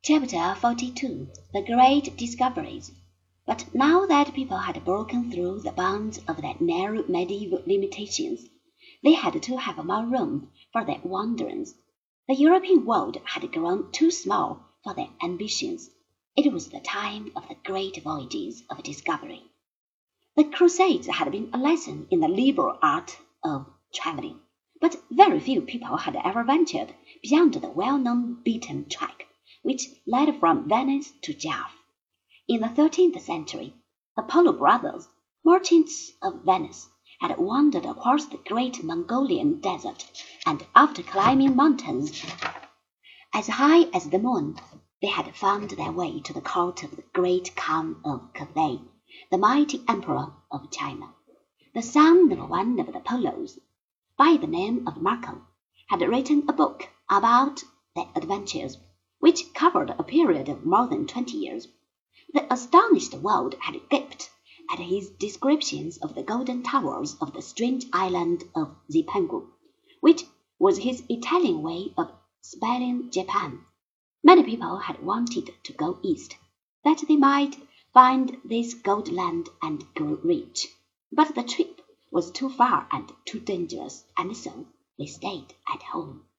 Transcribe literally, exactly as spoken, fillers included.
Chapter forty-two The Great Discoveries. But now that people had broken through the bounds of their narrow medieval limitations, they had to have more room for their wanderings. The European world had grown too small for their ambitions. It was the time of the great voyages of discovery. The Crusades had been a lesson in the liberal art of traveling, but very few people had ever ventured beyond the well-known beaten track which led from Venice to Java. In the thirteenth century, the Polo brothers, merchants of Venice, had wandered across the great Mongolian desert, and after climbing mountains as high as the moon, they had found their way to the court of the great Khan of Cathay, the mighty emperor of China. The son of one of the Polos, by the name of Marco, had written a book about their adventures, which covered a period of more than twenty years. The astonished world had gaped at his descriptions of the golden towers of the strange island of Zipangu, which was his Italian way of spelling Japan. Many people had wanted to go east, that they might find this gold land and grow rich, but the trip was too far and too dangerous, and so they stayed at home.